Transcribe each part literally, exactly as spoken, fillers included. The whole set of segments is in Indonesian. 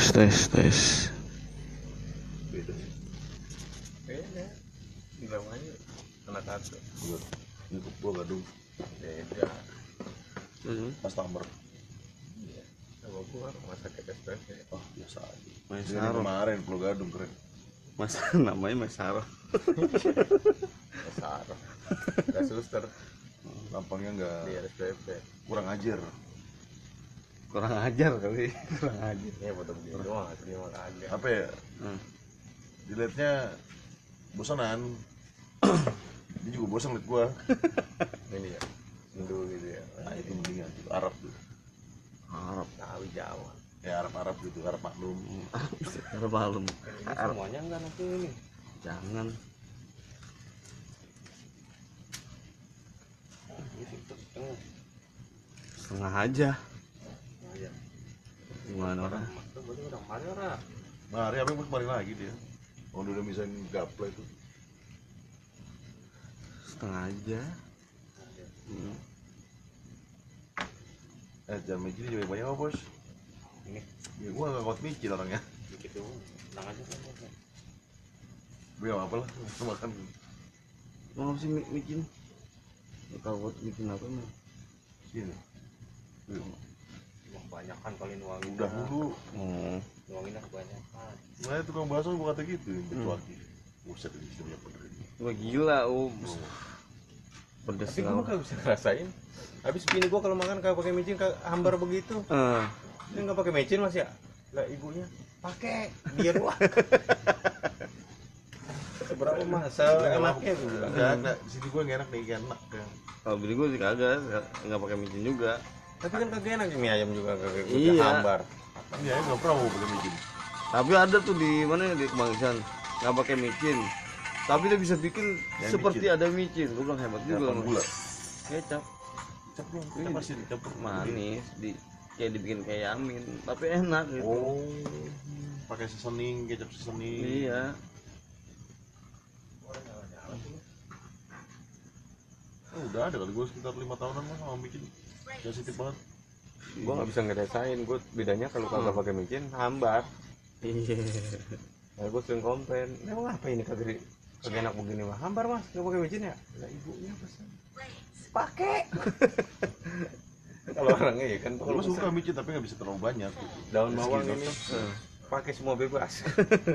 tes tes tes. Beda sih. Beda. Bilang aja anak satu. Gua ini gua gadung Beda. Hmm. customer. Iya. Sama gua rumah sakit S P P. Oh, biasa aja. Mas Dari Saro. kemarin Pulau Gadung keren. Mas namanya Mas Saro. Besar. Gak suster Lampangnya enggak di S P P. kurang ajar. Kurang ajar kali. Kurang ajar. Ini foto begini doang, asli mah kagak. Apa ya? Hmm. Dilihatnya bosanan. Dia juga bosan liat gua. Ini ya. Hindu gitu ya. Nah, itu mendingan gitu. Arab tuh. Arab. Tahu Jawa. Ya Arab-Arab gitu, Arab maklum. Arab malam. Ini semuanya enggak nanti ini. Jangan. Ini situ setengah. Setengah aja. Nah, ya. Gimana orang? Itu berarti orang mana orang? Mari apa yang kemarin lagi dia. Oh, dia udah misain gaple itu. Setengah aja. Hmm. Eh, jangan micin juga banyak apa, Bos? Ini Ya gua enggak kuat micin orangnya. dikit doang. Tenang aja kan. Gue enggak apa lah, makan. Mau apa sih mi- micin? Gak tau buat micin apa mah. Sini. Emang banyakan kali nuangin. Udah dulu. Oh. Nuanginnya kebanyakan. Nah, tukang bakso gua kata gitu, kecuali. Buset, ini sudah bener ini. Wah gila, um. Oh. Pedes Tapi gua kagak bisa ngerasain. Habis bini gua kalau makan kagak pakai micin, kagak hambar begitu. Eh, Dia nggak pakai micin mas ya? Lah ibunya pakai biar wah. Seberapa masa enaknya tuh? Enggak, enggak. Di sini gua enggak enak nih, enak kan. kalau beli gue sih kagak, nggak nggak pakai micin juga. Tapi kan kagak enak mie ayam juga kagak Iya. hambar. Iya, enggak pernah mau beli micin. Tapi ada tuh di mana ya, di Kemanggisan nggak pakai micin. Tapi dia bisa bikin Yang seperti micin. ada micin. Gue bilang hebat juga. Apa Mas. gula? Kecap Kecap dong, kita pasti dicampur manis, di kayak dibikin kayak yamin, tapi enak gitu. Oh, pakai seasoning, kecap seasoning. Iya. Oh, udah ada kali gua sekitar lima tahunan mah sama micin. Sensitif banget. Gua nggak bisa ngerasain. Gua bedanya kalau kagak pakai micin hambar. Iya. Nah, gua sering komplain. Emang apa ini kagak kagak enak begini mah? Hambar mas, nggak pakai micin ya? Lah ibunya pesan. Pakai. Kalau orangnya ya kan. Gua suka micin tapi nggak bisa terlalu banyak. Gitu. Daun bawang Segini ini doang. pakai semua bebas.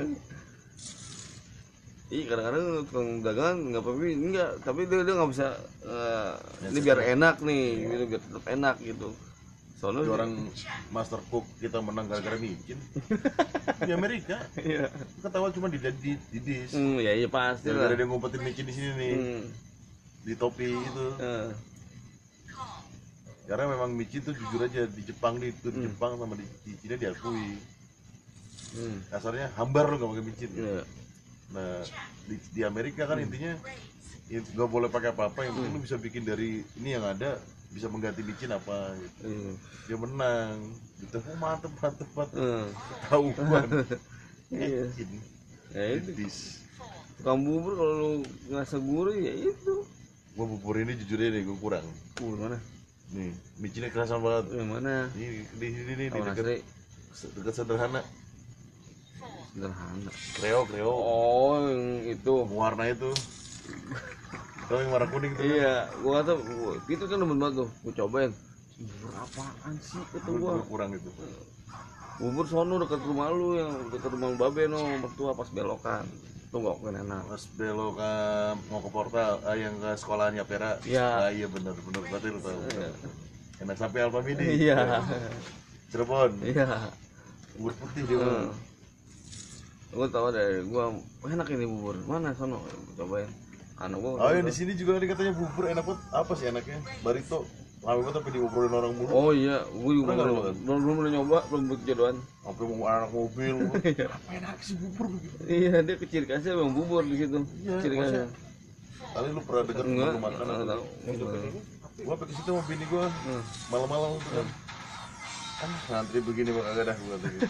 Iya, kadang-kadang tukang dagangan nggak pakai enggak, tapi dia dia nggak bisa. eh, Ya, ini biar enak nih, gitu biar tetap enak gitu. Soalnya Jadi orang master cook kita menang gara-gara micin. Di Amerika, Iya. ketawa cuma di di, di dish. Hmm, ya iya pasti lah. Gara-gara dia ngumpetin micin di sini nih, Hmm. di topi itu. eh. Karena memang micin tuh jujur aja di Jepang nih, itu di Hmm. Jepang sama di, di Cina diakui. Hmm. Kasarnya hambar lo nggak pakai micin. Iya. Nah di, di Amerika kan intinya ya nggak boleh pakai apa-apa, yang penting lu bisa bikin dari ini yang ada, bisa mengganti micin apa gitu. Iya. Dia menang gitu. Oh, mantep mantep mantep. Eh. Tahuan. Iya. Micin. Ya itu. Dis. Tukang bubur kalau lu ngerasa gurih ya itu. Gua bubur ini jujur aja deh, gua kurang. Bubur mana? Nih, micinnya kerasa banget. Yang mana? Ini di sini nih, di Tahu dekat nasi dekat sederhana. sederhana. Kreo, kreo. Oh, yang itu. Warna itu. Tahu yang warna kuning itu? Iya, gua kata gua- itu kan demen banget tuh. Gua cobain. Bubur apaan sih kata Gua, gua? gua kurang itu. Bubur sono dekat rumah lu yang dekat rumah lu Babe no, mertua pas belokan. Itu enggak kan enak. Pas belok ke mau ke portal, ah, yang ke sekolahannya Pera. Iya. Ah, iya benar benar berarti lu tahu. Iya. Enak sampai Alfa Midi. Iya. Cirebon. Iya. Bubur putih dia. Heeh. Gua tahu deh, gua enak ini bubur. Mana sono? Gua cobain. Anak gua. Oh, yang di sini juga tadi katanya bubur enak banget. Apa sih enaknya? Barito. Lama banget tapi diobrolin orang mulu. Oh iya, gua juga Pernah nggak belum lu makan? belum belum pernah nyoba, belum berjodohan. Sampai mau anak mobil. Apa enak sih bubur begitu? Iya, dia kecil kasih emang bubur di situ. Iya, Ciri khasnya. maksudnya- Kali lu pernah dengar Enggak, lu makan enggak apa? tahu. Enggak. Gua pakai situ sama bini gua Hmm. malam-malam tuh kan. Kan ngantri begini mah kagak dah gua kata gitu.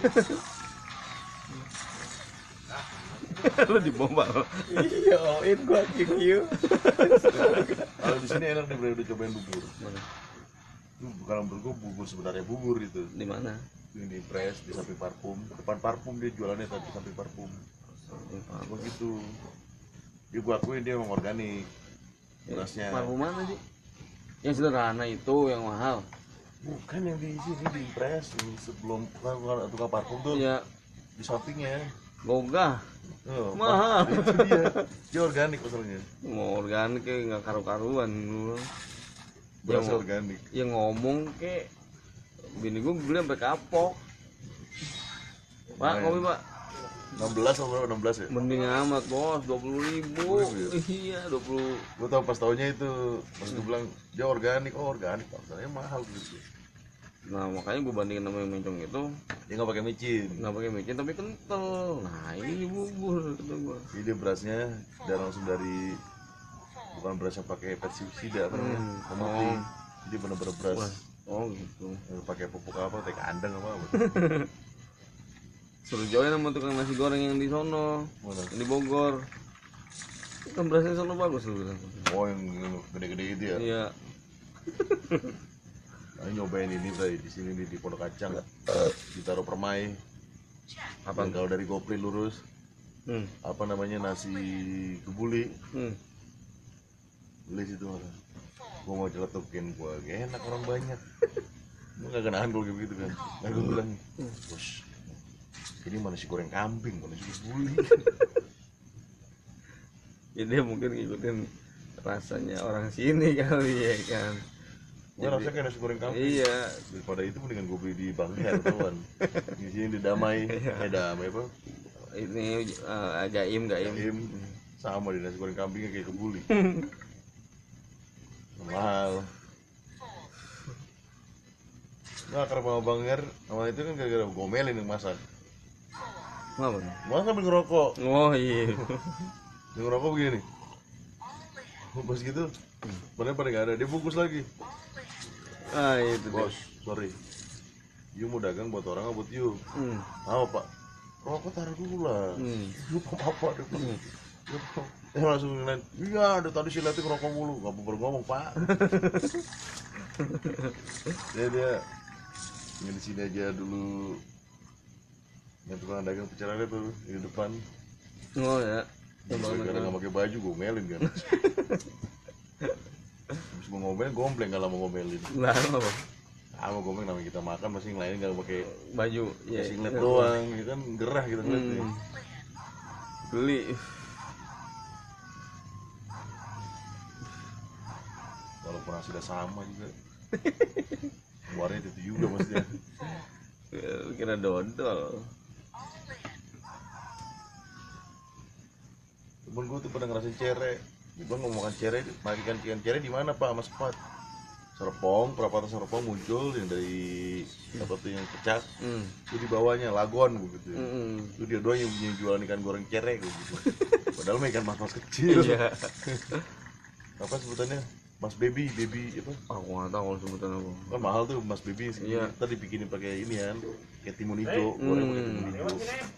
Lu dibombal. Iya, in gua Q Q. Kalau di sini enak nih, udah cobain bubur. Mana? Itu kalau menurut gua bubur sebenarnya bubur itu. Di mana? Di yang di press di samping parfum, depan parfum dia jualannya tapi samping parfum. Aku gitu. Dia gua akuin dia emang organik. Berasnya. Parfum mana sih? Yang sederhana itu yang mahal. Bukan yang di sini di press yang sebelum tukang tukang parfum tuh Ya di sampingnya. gogah. Oh, Mahal. Itu dia. Dia organik masalahnya. Mau organik kayak nggak karu-karuan dulu. Berasa Yang- organik. Yang ngomong kayak bini gue beli sampai kapok. Pak, Lumayan. kopi pak. enam belas atau berapa? enam belas ya? Mending amat bos, dua puluh ribu. dua puluh ribu Iya, dua puluh. Gue tau pas taunya itu, pas gue bilang dia organik, oh organik, masalahnya mahal gitu. Nah makanya gue bandingin sama yang mencong itu, Dia nggak pakai micin, nggak pakai micin tapi kental. Nah ini bubur kata gue. jadi dia berasnya dan langsung dari bukan beras yang pakai pestisida apa namanya, Hmm. pemutih. Oh. Jadi bener-bener beras Wah, oh gitu. yang pakai pupuk apa, teh kandang apa apa. Suruh join sama tukang nasi goreng yang di sono, Mana? yang di Bogor. Kan berasnya sono bagus lu bilang. Oh yang gede-gede itu ya. Iya. Nah, nyobain ini tadi di sini nih di Pondok Kacang, ditaruh permai. Apa? Yang kalau dari Gopri lurus, Hmm. apa namanya nasi kebuli, Hmm. beli situ makan. Gua mau celetukin gua, enak orang banyak. Gua nggak nahan kalau gitu kan. Nah gua bilang, bos, ini mana nasi goreng kambing, mana nasi kebuli. Ya dia mungkin ngikutin rasanya orang sini kali ya kan. Gua rasanya kayak nasi goreng kambing. Iya. Daripada itu mendingan gua beli di Bangher kawan. Di sini di Damai, eh Damai apa? Ini uh, gaim gaim. Im, sama di nasi goreng kambingnya kayak kebuli. Mahal. Nah, karena sama Bang Her, sama itu kan gara-gara gomelin yang masak. Ngapa? nih? Masak sambil ngerokok. Oh iya. Yang ngerokok begini. Pas gitu, padahal pada nggak ada, dia bungkus lagi. Ah itu Bos, sorry. You mau dagang buat orang apa buat you? Hmm. Apa pak? Rokok taruh dulu lah. Hmm. Lupa apa deh pak. Eh langsung ngeliat, iya ada tadi si Lati ngerokok mulu. Gak baru ngomong pak. Dia dia yang di sini aja dulu. Yang tukang dagang pecahannya tuh di depan. Oh ya. Yang Gara-gara banget. nggak pakai baju gomelin kan. Habis mau ngomelin gombleng kalau mau ngomelin. Lah apa? Ah mau gombeng namanya kita makan masih yang lain nggak pakai Baju. Ya. singlet doang, ya kan gerah kita ngeliatnya. Hmm. Beli. Walaupun hasilnya sama juga. Keluarnya itu juga maksudnya. Ya, kira dodol. Temen gue tuh pernah ngerasain cere. Gue ngomong makan cere, makan ikan cere di mana pak? Mas Pat. Serpong, perapatan Serpong muncul yang dari apa tuh yang pecah. Hmm. Itu di bawahnya lagon gitu. Hmm. Itu dia doang yang punya jualan ikan goreng cere gitu. Padahal mah ikan mas-mas kecil. Iya. Apa sebutannya? Mas baby, baby apa? Aku nggak tahu kalau sebutan apa. Kan mahal tuh mas baby segini. Iya. Tadi bikinin pakai ini kan, kayak timun hijau, goreng pakai timun hijau.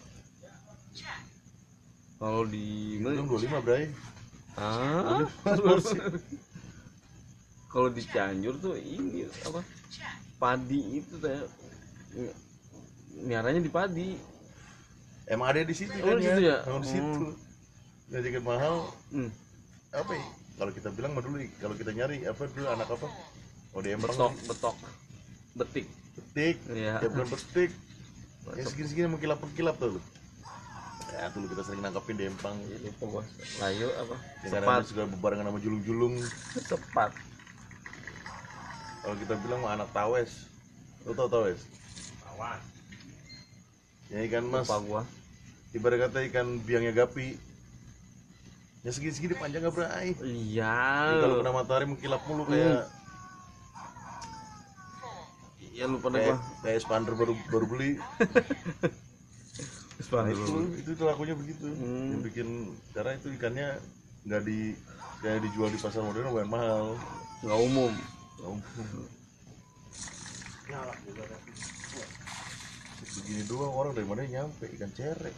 Kalau di Belum mana? dua puluh lima bray. Ah. Kalau di Cianjur tuh ini apa? Padi itu teh. Miaranya di padi. Emang ada di situ Oh, kan di situ ya? Emang di situ. Oh. Ngajakin mahal, Hmm. apa ya? Kalau kita bilang mah dulu, kalau kita nyari apa dulu anak apa? Oh di Empang Betok, nih, betok. Betik. betik, Iya. ya bukan betik. Ya segini-segini mengkilap-mengkilap tuh. Ya dulu kita sering nangkepin di Empang. Itu bos. Layu apa? Yang Sepat. kadang juga bebarengan sama julung-julung. Sepat. Kalau kita bilang mah anak tawes. Lo tau tawes? Ya ikan mas, Lupa gua. ibarat kata ikan biangnya gapi. Ya segini-segini panjang gak berai. Iya. Jadi kalau kena matahari mengkilap mulu kayak Iya lupa deh kayak, gua. kayak expander baru baru beli. Nah, Sepat itu, dulu. itu itu lakunya begitu. Hmm. Yang bikin karena itu ikannya nggak di kayak dijual di pasar modern lumayan mahal. Nggak umum. Begini doang orang dari mana nyampe ikan cerek.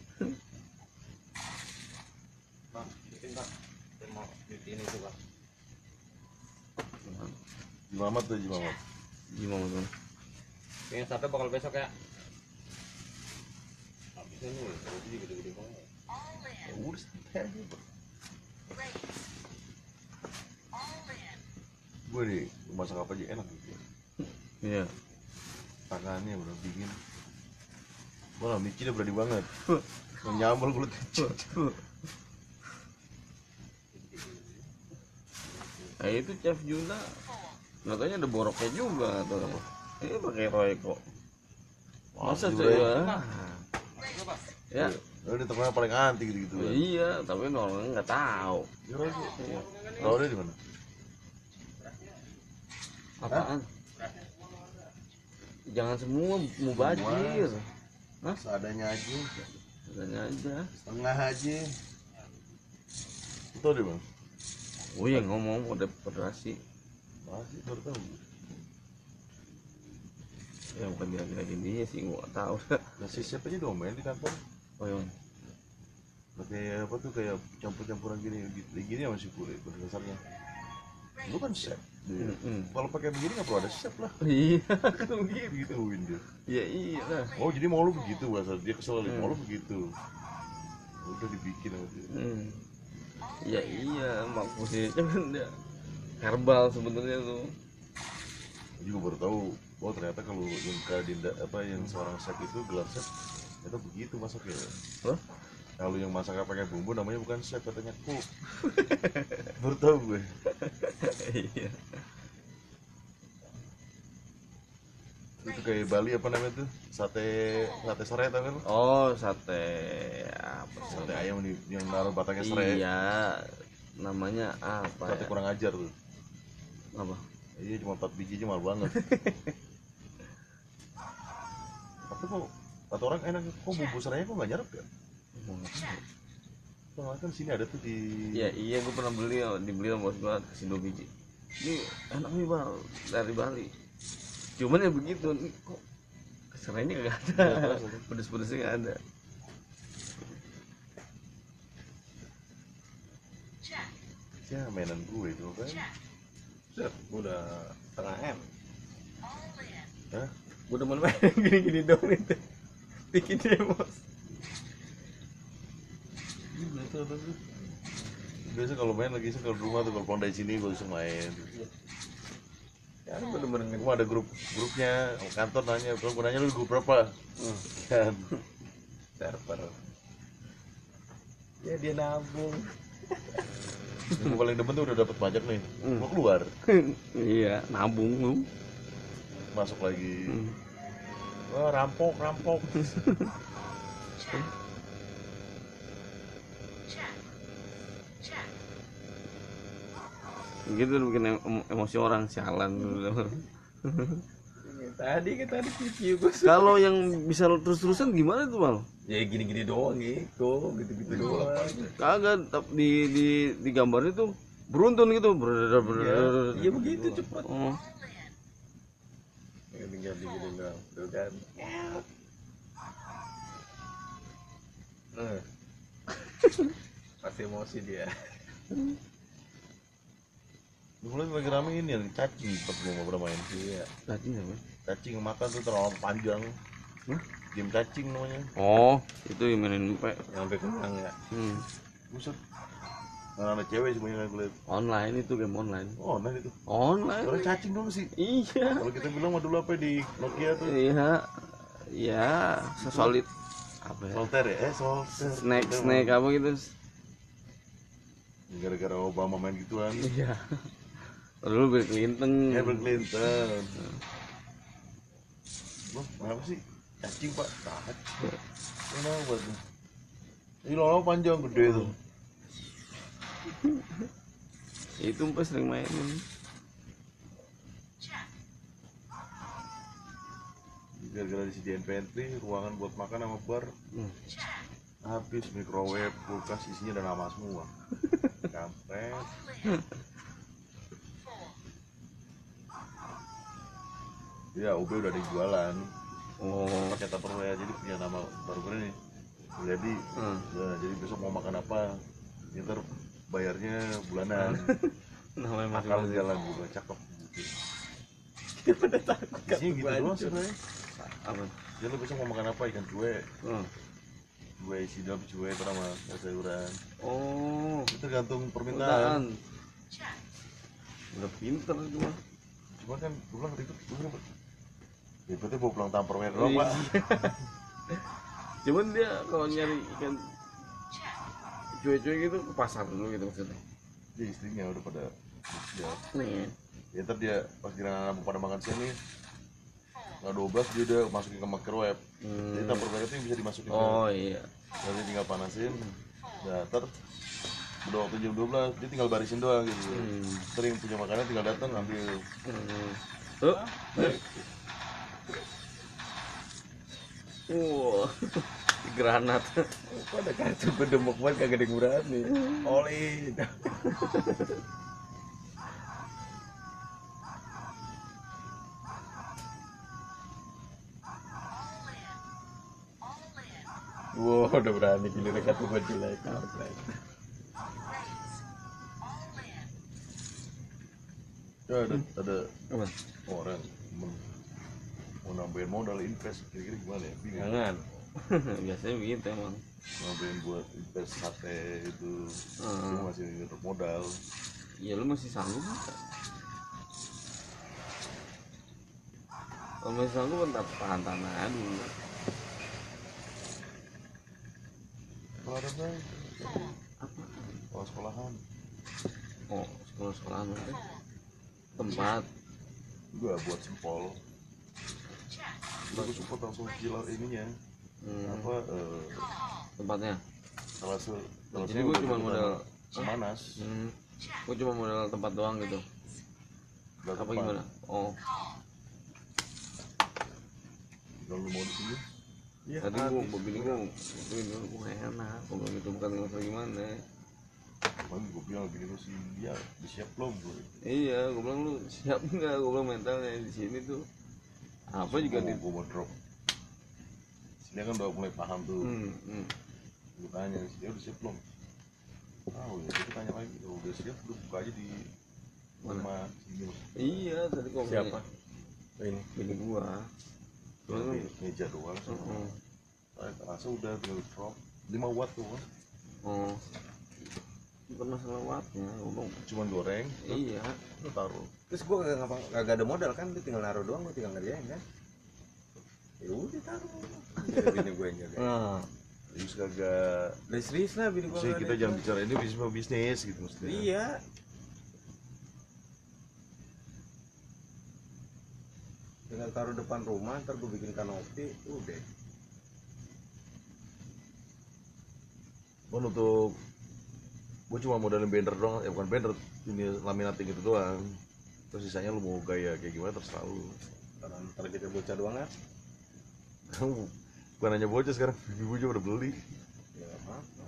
Nah, Jimamat tuh Jimamat. Gimana tuh? Jimamat. Jimamat. Jimamat. Jimamat. Jimamat. Jimamat. Jimamat. Jimamat. Jimamat. Jimamat. Jimamat. Jimamat. Jimamat. Jimamat. Jimamat. Jimamat. Yang satu bakal besok ya. Habisnya nih, kalau itu gede-gede banget. Ya udah santai aja bro. Gue di masak apa aja enak gitu. Iya. Tangannya bro dingin. Wah, Michi udah berani banget. Nyambel kulit kecil. Nah itu Chef Juna, katanya ada boroknya juga atau apa? Ini pakai Royco. Masa Wah, sih Royco. ya? Ya. Lo ini temennya paling anti gitu-gitu kan. Iya, tapi orang nggak tahu. Ya Royco. Tahu dia di mana? Apaan? Jangan semua mau bajir. Hah? Seadanya aja, Katanya aja. setengah aja. Tahu dia bang? Oh iya ngomong udah federasi. Masih baru tahu. Ya bukan bilang-bilang gini sih, gua nggak tahu. Nah si siapa aja dong main di kantor. Oh iya. Pakai apa tuh kayak campur-campuran gini gitu gini sama si kulit pada dasarnya. Lu kan chef. Dia. Mm-mm. Kalau pakai begini nggak perlu ada chef lah. Iya, kan begitu. Gituin dia. Iya iya lah. Oh jadi mau lu begitu bahasa dia kesel Hmm. mau lu begitu. Udah dibikin sama dia. Hmm. Iya iya, maksudnya kan dia herbal sebenarnya tuh. Gua juga baru tahu. Oh ternyata kalau yang Kak Dinda apa yang seorang chef itu gelar chef itu begitu masaknya. Loh? Kalau yang masaknya pakai bumbu namanya bukan chef katanya cook. Baru tahu gue. Iya. Itu kayak Bali apa namanya tuh? Sate sate serai tau kan? Oh sate apa sih? Sate ayam di, yang naruh batangnya serai. Iya, namanya apa Sate ya? kurang ajar tuh. Apa? Iya cuma empat biji aja mahal banget. Tapi kok kata orang enak kok bumbu serainya kok nggak nyerap ya? Gua nggak tahu. Soalnya kan sini ada tuh di. Iya iya, gue pernah beli, dibeli sama bos gue kasih dua biji. Ini enak nih bang, dari Bali. Cuman ya begitu, nih kok keserainya nggak ada, Nggak terasa, kan? pedes-pedesnya nggak ada. Ya mainan gue itu kan. Set, gua udah setengah M. Hah? Gue udah main gini-gini dong itu, bikin demos. Biasa tuh. Biasa kalau main lagi sih kalau di rumah tuh kalau pulang dari sini gue langsung main. Ya lu bener-bener Cuma ada grup grupnya kantor nanya, kalau gue nanya lu grup berapa? Kan. server. Ya dia nabung. Yang paling demen tuh udah dapat pajak nih. Hmm. Mau keluar, Iya, nabung lu. masuk lagi. Hmm. Wah, rampok, rampok. Gitu bikin em- emosi orang, sialan. Tadi kan tadi review gua. Kalau yang bisa terus-terusan gimana tuh bang? Ya gini-gini doang gitu, gitu-gitu doang. Kagak, tap- di di di gambarnya tuh beruntun gitu, ber ber Iya begitu cepet. Oh, Ya, tinggal digini doang, tuh kan. Eh. Pasti emosi dia. Dulu lagi rame ini yang cacing pas gue mau pernah main. Iya. tadi apa? Cacing makan tuh terlalu panjang. Hah? Game cacing namanya. Oh, itu yang mainin P. Sampai kenyang ya. Hmm. Buset. Nah, ada cewek semuanya gue liat. Online itu game online. Oh, nah itu. Online. Orang cacing dong sih. Iya. Kalau kita bilang mah dulu apa di Nokia tuh. Iya. Ya, sesolid apa ya? Solter ya? Eh, solter. Snack Kita snack mah. apa gitu. Gara-gara Obama main gituan. Iya. Dulu Bill Clinton. Ya, Bill Clinton. Loh, kenapa sih? Cacing, Pak. Cacing. Kenapa tuh? Ini lama panjang gede tuh. Itu Empat sering mainin. Gara-gara disediain pantry, ruangan buat makan sama bar. Hmm. Habis microwave, kulkas isinya udah nama semua. Kampret. Ya, U B udah ada jualan. Oh. Pakai Tupperware jadi punya nama baru gue nih. Jadi, Hmm. ya, jadi besok mau makan apa? Ntar bayarnya bulanan. Namanya Akal masing-masing. jalan juga cakep. Dia pada takut kan Isinya gitu gua doang hancur. sebenarnya. Apa? Dia lu besok mau makan apa? Ikan cuek, Hmm. gue sidap cuek terus sama sayuran. Oh, Itu tergantung permintaan. permintaan. Udah pinter itu mah. Cuma kan gue bilang ribet, gue bilang ribetnya bawa pulang Tupperware doang pak. Cuman dia kalau nyari ikan cuek-cuek gitu ke pasar dulu gitu maksudnya. Dia istrinya udah pada ya. Nih. Ya ntar dia pas kira anak pada makan siang nih nggak dua belas dia udah masukin ke microwave. Hmm. Jadi Tupperware itu yang bisa dimasukin Oh ke iya. nanti tinggal panasin. Nah ntar udah waktu jam dua belas dia tinggal barisin doang gitu. Hmm. Sering punya makanan tinggal datang ambil. Hmm. Tuh. Wah. Granat. Kok ada kartu bedemuk banget kagak ada yang berani. Oli. Wow, udah berani giliran kartu buat jelek. Ya ada ada Apa? orang men- mau nambahin modal invest kira-kira gimana ya? Bingung. Jangan. Biasanya begitu emang. Nambahin buat invest sate itu Hmm. cuma masih modal. Ya lu masih sanggup nggak? Kalau masih sanggup kan tahan tanah dulu. Kalau ada bang, Apa? kalau sekolahan Oh, sekolah-sekolahan nanti tempat. juga buat sempol. Gue support langsung gila ininya Hmm. apa eh, Tempatnya. salah satu salah Jadi satu gua udah cuma ikutan modal- Semanas. Hmm. Gua cuma modal tempat doang gitu. Udah Apa tepat. gimana? Oh, Kalau lu mau di sini, Iya, tadi gua gua bini gua gua dulu gua nggak enak. Gua bilang itu bukan masalah gimana. bang gue bilang gini lu sih dia disiap belum gue. Iya, gua bilang lu siap nggak? Gua bilang mentalnya di sini tuh apa juga di. gue mau drop. Dia kan udah mulai paham tuh. Hmm, hmm. Gue tanya dia udah siap belum? Tahu ya, kita tanya lagi. Oh, udah siap belum? Buka aja di Mana? rumah sini. Iya, tadi kok Siapa? Ini. bini gua. Cuman kan, Me- meja doang. heeh. Saya rasa udah tinggal drop lima watt tuh kan. Oh, bukan masalah wattnya, gua bilang, Cuman goreng, iya. lu taruh. Terus gua kagak ngapa kagak ada modal kan, dia tinggal naruh doang, gua tinggal ngerjain kan. Ya udah taruh. Jadi bini gue yang jaga. Nah, Terus kagak. Lah serius lah bini gua. Maksudnya nggak kita ada jangan itu. bicara ini bisnis bisnis gitu maksudnya. Iya. Tinggal taruh depan rumah, ntar gue bikin kanopi, udah. Kan untuk gue cuma modalin banner doang, ya bukan banner, ini laminating gitu doang. Terus sisanya lu mau gaya kayak gimana terserah lu. Karena ntar kita bocah doang kan. Bukan hanya bocah sekarang, ibu juga udah beli. Ya apa?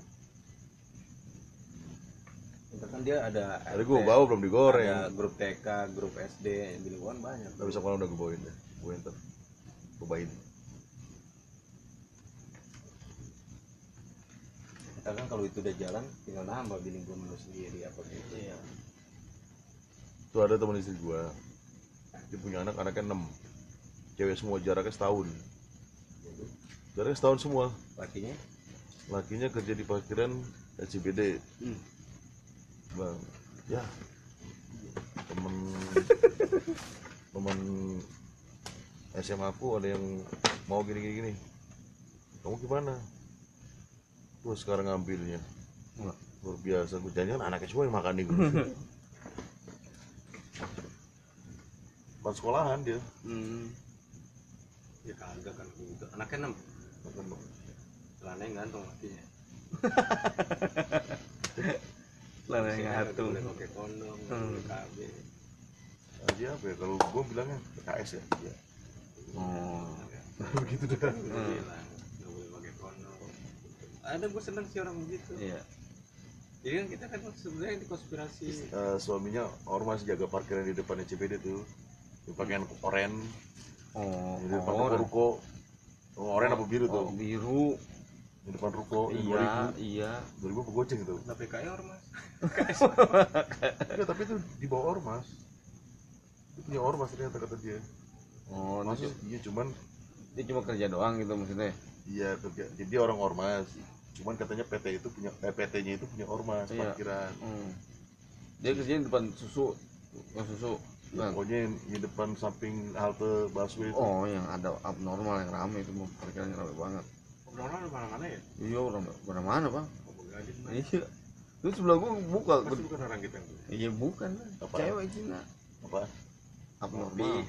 Ntar kan dia ada. Tadi gue bawa belum digoreng. Ada grup T K, grup S D, bini gua kan banyak. Tapi besok malam udah gue bawain deh, gue ntar gue bawain. Kita kan kalau itu udah jalan, tinggal nambah bini gua menu sendiri apa gitu ya. Tuh ada teman istri gue, dia punya anak, anaknya enam, cewek semua, jaraknya setahun. Jadi Jaraknya setahun semua. lakinya Lakinya kerja di parkiran S C B D. Hmm. Bang, ya temen temen S M A aku ada yang mau gini gini gini. Kamu gimana? Gue sekarang ngambilnya. Wah. Luar biasa, gue jangan anaknya semua yang makan nih. Pas sekolahan dia. hmm. Ya kagak kan gitu. Anaknya enam. Celananya gantung lakinya. Lana yang Nggak ngatur. boleh pakai kondom, nggak Hmm. boleh K B. Nah, dia apa ya? Kalau gue bilangnya P K S ya. Dia. Oh, Begitu dah. Gue bilang nggak boleh pakai kondom. Ada gue seneng sih orang begitu. iya. Jadi kan kita kan sebenarnya di konspirasi. Eh, suaminya ormas jaga parkiran di depan C B D tuh. Dia pakaian oren, Oh, di depan oh, ruko. Oh, oren apa biru tuh? oh, biru. Di depan ruko, dua Iya, ribu iya. dua ribu apa goceng itu? Nah P K I ormas. Enggak, tapi itu di bawah ormas. Itu punya ormas ternyata kata dia. Oh, Maksud itu iya cuman Dia cuma kerja doang gitu maksudnya. Iya kerja, jadi orang ormas. Cuman katanya P T itu punya eh, P T-nya itu punya ormas Iya. parkiran. Hmm. Dia kerjanya di depan susu, yang susu. Ya, Kan? pokoknya yang di depan samping halte busway itu. Oh, yang ada abnormal yang rame itu mau parkirannya rame banget. Normal mana-mana ya? Iya, orang mana mana bang. Oh, Gading, Bang. Iya. Itu sebelah gua buka. Pasti bukan orang kita yang tuh. Iya bukan. Apa? Cewek Cina. Apa? Abnormal.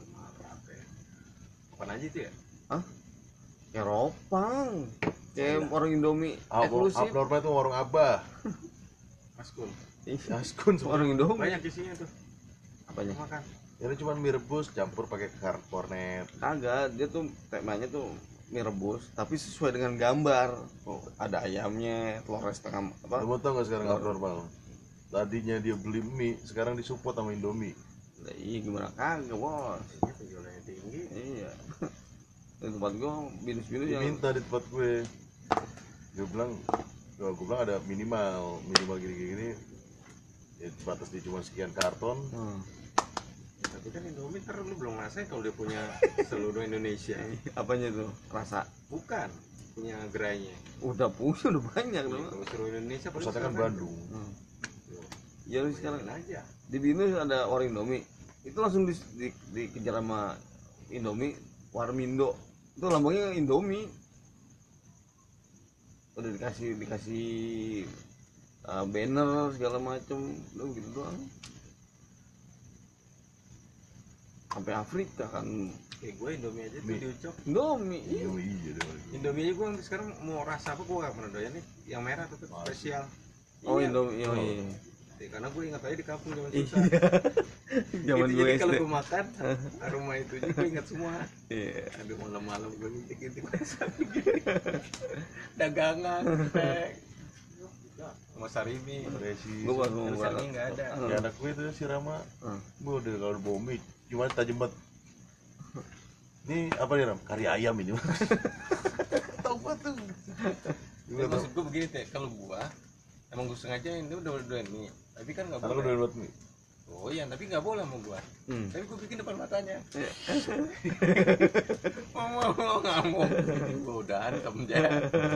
Apaan aja itu ya? Eropang. Kayak orang Indomie Abnormal, eksklusif. abnormal itu warung Abah. Maskul. Iya. Askun Orang Indomie. Banyak isinya tuh. Apanya? Makan. Ini cuma mie rebus campur pakai kar- kornet. Kagak, dia tuh temanya tuh mie rebus, tapi sesuai dengan gambar. Oh, ada ayamnya, telur setengah apa? Kamu tau gak sekarang Telur. abnormal? Tadinya dia beli mie, sekarang disupport sama Indomie. Lah, iya gimana kagak bos? Ini penjualannya tinggi. Iya. Di tempat gua binus-binus yang Diminta di tempat gue. Gue bilang, gue bilang ada minimal, minimal gini-gini. Ya, batas dia cuma sekian karton. Hmm. Tapi kan Indomie ntar lu belum ngerasain kalau dia punya seluruh Indonesia. Apanya tuh? Rasa. Bukan punya gerainya. Udah punya udah banyak Kalau dong. seluruh Indonesia paling Pusatnya kan sekarang Bandung. Hmm. Tuh, Ya lu sekarang bayangin aja. di binus ada orang Indomie. Itu langsung di, di, dikejar sama Indomie, Warmindo. Itu lambangnya Indomie. Udah dikasih dikasih uh, banner segala macem, udah gitu doang. Sampai Afrika kan Kayak gue Indomie aja tuh Mie. diucok. Indomie. Iya. Indomie iya deh. Indomie aja gue sekarang mau rasa apa gue gak pernah doyan nih. Yang merah tuh tuh, Masih. spesial. Oh Iya. Indomie, oh, iya. Ya, karena gue ingat aja di kampung zaman Iya. susah. Zaman Gitu, gue jadi S kalau D. gue makan aroma itu juga gue ingat semua. Iya. Aduh malam-malam gue ngintip-ngintip dagangan, pek, sama sarimi. Resi. Gue baru Terus sarimi nggak ada. Ya anak gue itu si Rama. Hmm. Gue udah kalau bawa mie, cuma tajam banget. Ini apa nih Ram? Kari ayam ini. Tahu gua tuh. Ya, maksud gue begini teh, kalau gua emang gue sengaja ini udah udah ini, tapi kan nggak Karena gue boleh. udah buat mie. Oh iya, tapi nggak boleh sama gua. Hmm. Tapi gua bikin depan matanya. Iya. Mau mau mau nggak mau. Gua udah antem aja.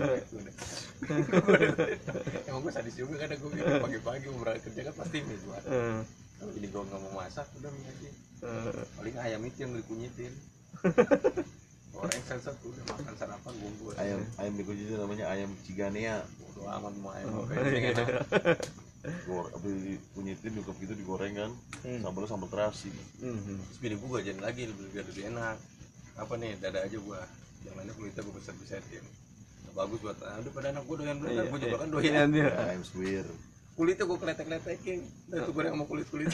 Emang gua sadis juga kadang gua bikin pagi-pagi mau berangkat kerja kan pasti mie gua. Hmm. Kalau jadi gua nggak mau masak udah mie aja. Hmm. Paling ayam itu yang dikunyitin. Goreng sensor udah makan sarapan gua. Ayam ayam dikunci itu namanya ayam ciganea. Bodo amat mau ayam Oh, apa yang enak. Gor, apa dikunyitin nyukap gitu digoreng kan. Hmm. Sambalnya sambal terasi. Hmm. Terus bini gua jajan lagi lebih biar lebih enak. Apa nih dada aja gua. Yang lainnya kulitnya gua besar besarin. Bagus buat aduh pada anak gua doyan bener, Iya, gua juga iya. kan Iya, doyan. dia. Ayam suwir. Kulitnya gua kletek-kletekin. Dan tuh goreng sama kulit-kulit.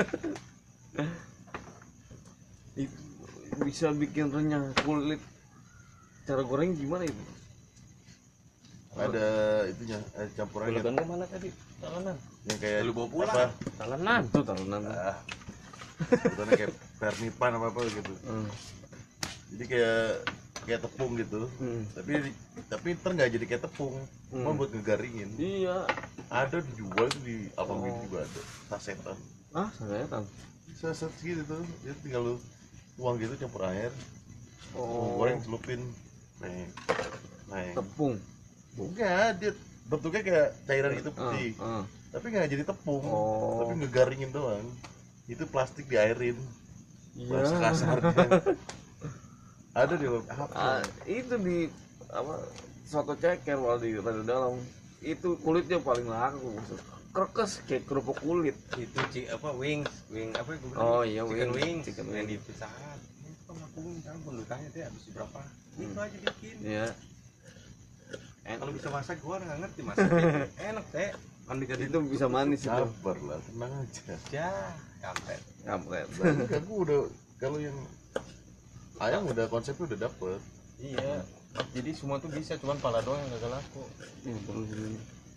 Itu bisa bikin renyah kulit. Cara goreng gimana itu? Ada itunya, eh, campurannya Gula mana tadi? Talenan. yang kayak Lu bawa pulang. apa? Talenan. Tuh talenan. Ah, sebutannya kayak pernipan apa apa gitu. Hmm. Jadi kayak kayak tepung gitu. Hmm. Tapi tapi ntar nggak jadi kayak tepung, cuma Hmm. buat ngegaringin. Iya. Ada dijual tuh di Alfamart Oh. juga ada sasetan. Ah, saya tahu. Saset gitu tuh, ya tinggal lu tuang gitu campur air, Oh. goreng celupin, neng, neng. Tepung. Enggak, dia bentuknya kayak cairan gitu Ah, putih, ah. tapi nggak jadi tepung, Oh. tapi ngegaringin doang. Itu plastik diairin, bahasa Iya. kasarnya. Ada di apa? Ah, itu di apa soto ceker kalau di rada dalam itu kulitnya paling laku, kerkes kayak kerupuk kulit. Itu ci apa wings, wing apa gua bilang? Oh, iya, chicken wings. wings, Chicken yang wings. di Pizza Hut. Ini kok aku wing kan bentukannya teh habis berapa? Itu Hmm. aja bikin. Iya. Eh, kalau bisa masak gua nggak ngerti masaknya. Enak teh. Kan dikasih Itu bisa manis itu. Sabar lah, tenang aja. ya, kampret. Kampret. Enggak, gua udah kalau yang ayam udah konsepnya udah dapet. Iya. Jadi semua tuh bisa, cuman pala doang yang gak laku. Ini terus ini.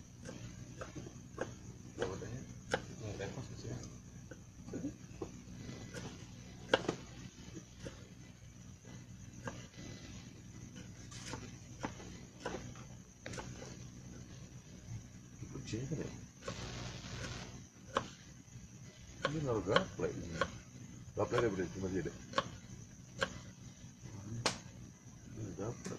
Jawabnya, nggak repot sih. Kucing kan ya? Ini naruh gaplek ini. Gaplek ada berarti masih ada. dapet.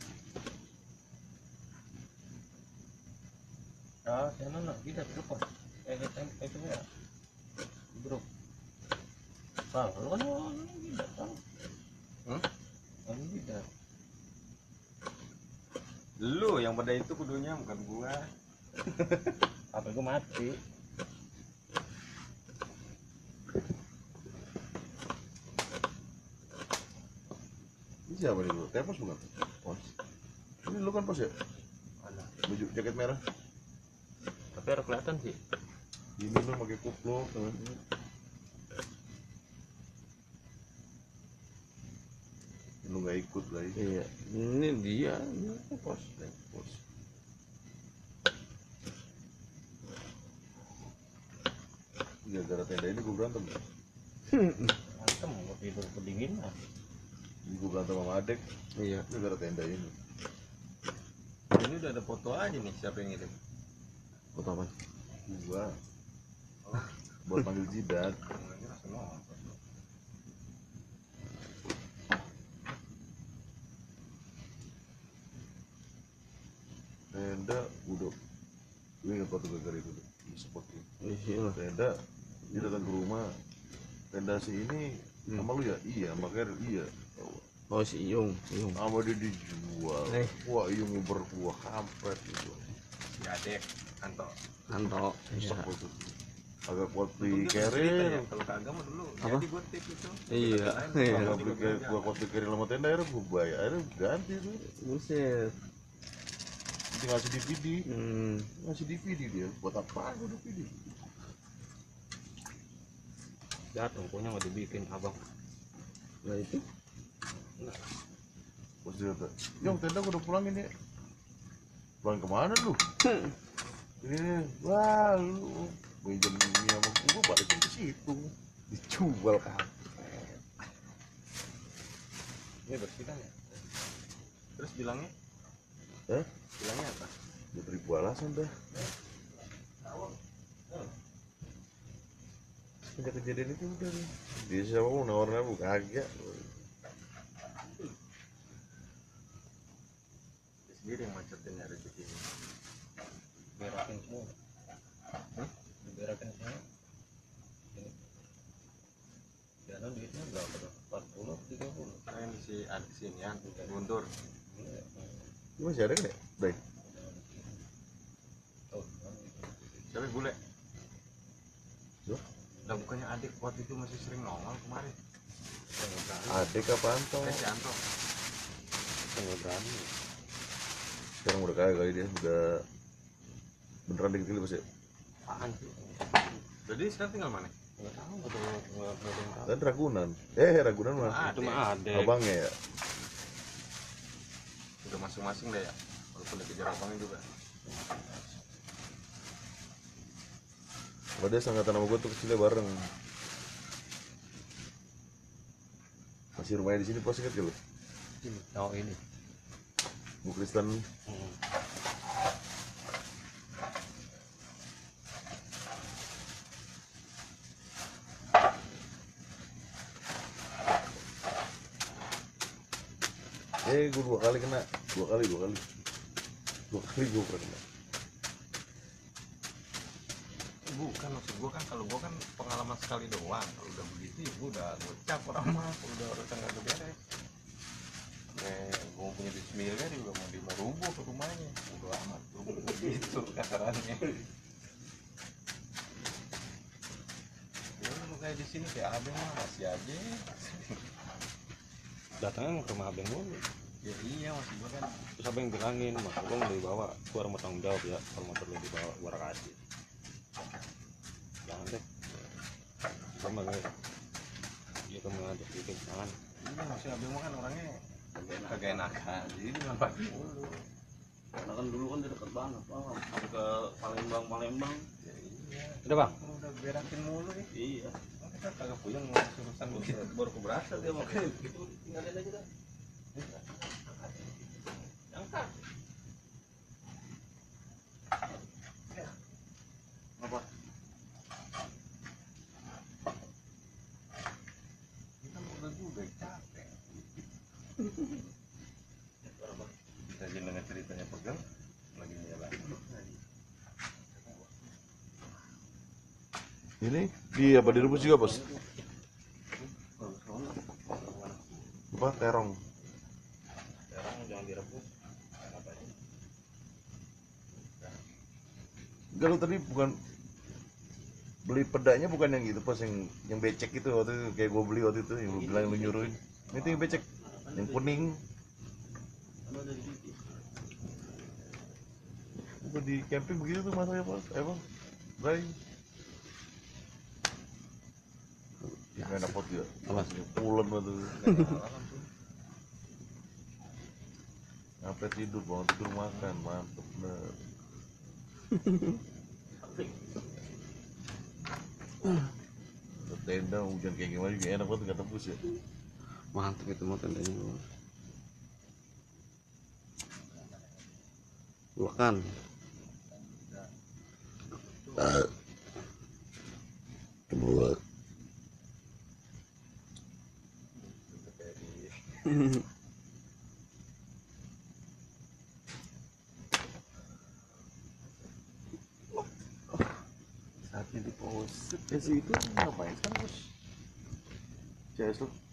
Ah, sana nak kita terus. Eh, eh, eh, itu ya. Bro. Ah, lu kan orang tidak tahu. Hmm? Orang tidak. Lu yang pada itu kudunya bukan gua. Apa gua mati. Ini siapa nih lu? Tepos bukan? Pos. Ini lu kan pos ya? Mana? Baju jaket merah. Tapi harus kelihatan sih. Ini lu pakai kupluk. Lu nggak ikut lagi. Iya, ini dia, ini pos, pos. Gara-gara tenda ini gue berantem. Mantap, mau tidur kedinginan. Ini gue berantem sama adek. Iya. Gara-gara tenda ini. Ini udah ada foto aja nih, siapa yang ngirim? Foto apa? Gua buat panggil jidat. Tenda udah gue ingat waktu gara-gara itu tuh seperti Iya. tenda dia datang ke rumah. Tenda si ini Hmm. sama lu ya? Iya, makanya iya. Oh si Iyung, Iyung. Sama dia dijual. Eh. Wah, iya berkuah kampret gitu. Si Adek, Kanto. Kanto. Iya. Rusak itu. Agak kuat Dulu di dia pernah cerita carry. ya, kalau kagak mah dulu Apa? jadi gue tip itu. Iya. Iya. Agak beli kayak gua kuat di carry sama tenda akhirnya gua bayar. Akhirnya ganti tuh. Buset. Dia ngasih D V D. Hmm. Ngasih D V D dia. Buat apa gua D V D? Datang, pokoknya mau dibikin abang. Nah itu. Bos dia kata, "Yong, tenda gua udah pulangin ya." Pulang kemana lu? Ini, wah lu pinjam ini sama gua balikin ke situ. Dijual kan. Ini bersih kan ya? Terus bilangnya? Eh? Bilangnya apa? Dia beribu alasan dah. Sejak kejadian itu udah nih. Dia siapa mau nawarin aku kagak. Dia sendiri yang macetin ya rezeki ini. Berakin semua. Hah? Berakin semua. Ini. Jalan duitnya berapa tuh? empat puluh, tiga puluh. Nah ini si adik sini ya, Guntur. Ini masih ada kan ya? Baik. Oh, siapa bule? Loh? Lah bukannya adik waktu itu masih sering nongol kemarin. Adek apa Anto? Eh si Anto. Enggak berani. Sekarang udah kaya kali dia, udah beneran dikit-dikit pas ya? Apaan sih? Jadi sekarang tinggal mana? Enggak tahu, enggak tahu, enggak ada yang tahu. Kan Ragunan. Eh, Ragunan mah. Itu mah ada. Abangnya ya? Udah masing-masing deh ya. Walaupun dikejar abangnya juga. Kalau dia sangkatan sama gue tuh kecilnya bareng. Masih rumahnya di sini pas inget gak lu? Oh ini. Bu Kristen. Hmm. Eh, gue dua kali kena. Dua kali, dua kali. Dua kali gue pernah kena. Bukan maksud gua kan, kalau gua kan pengalaman sekali doang. Kalau udah begitu ya gua udah gocap orang mah. Kalau udah urusan nggak beres. Eh, gua punya duit miliar juga mau di mau rubuh ke rumahnya. Udah amat, rubuh gitu kasarannya. Ya lu kayak di sini kayak abeng mah masih aja. Datangnya ke rumah abeng mulu. Ya iya masih gua kan. Terus abeng bilangin, mas gua mau dibawa, gua harus tanggung jawab ya. Kalau motor lu dibawa, gua kasih. Jangan deh, sama kayak dia kamu ngajak bikin jangan. Ini masih abang mah kan orangnya kagak enakan, jadi dimanfaatin dulu. Karena kan dulu kan dia deket banget, Bang. Sampai ke Palembang, Palembang. Ya, iya. Udah bang? Udah berakin mulu ya. Iya. Kita kagak punya ngurus urusan begitu. Baru keberasa dia makanya gitu tinggalin aja dah. Angkat. Apa? Kita udah juga capek. Ini di apa direbus juga bos? Apa terong? Sekarang jangan direbus. Apa aja? Enggak, lu tadi bukan beli pedanya, bukan yang gitu pas yang yang becek itu waktu itu, kayak gue beli waktu itu yang lu bilang lu nyuruhin. Ini tuh yang becek, yang kuning. Gua di camping begitu tuh masanya bos, eh bang, Bray. Ya, enak banget ya. Apa? Pulen banget tuh. Sampai tidur, bangun tidur makan, mantep bener. Tenda hujan kayak gimana juga enak banget, nggak tembus ya. Mantap itu mau tendanya bos. Makan. Kebelet. Saatnya di pause. Ya sih itu ngapain kan bos? C S lu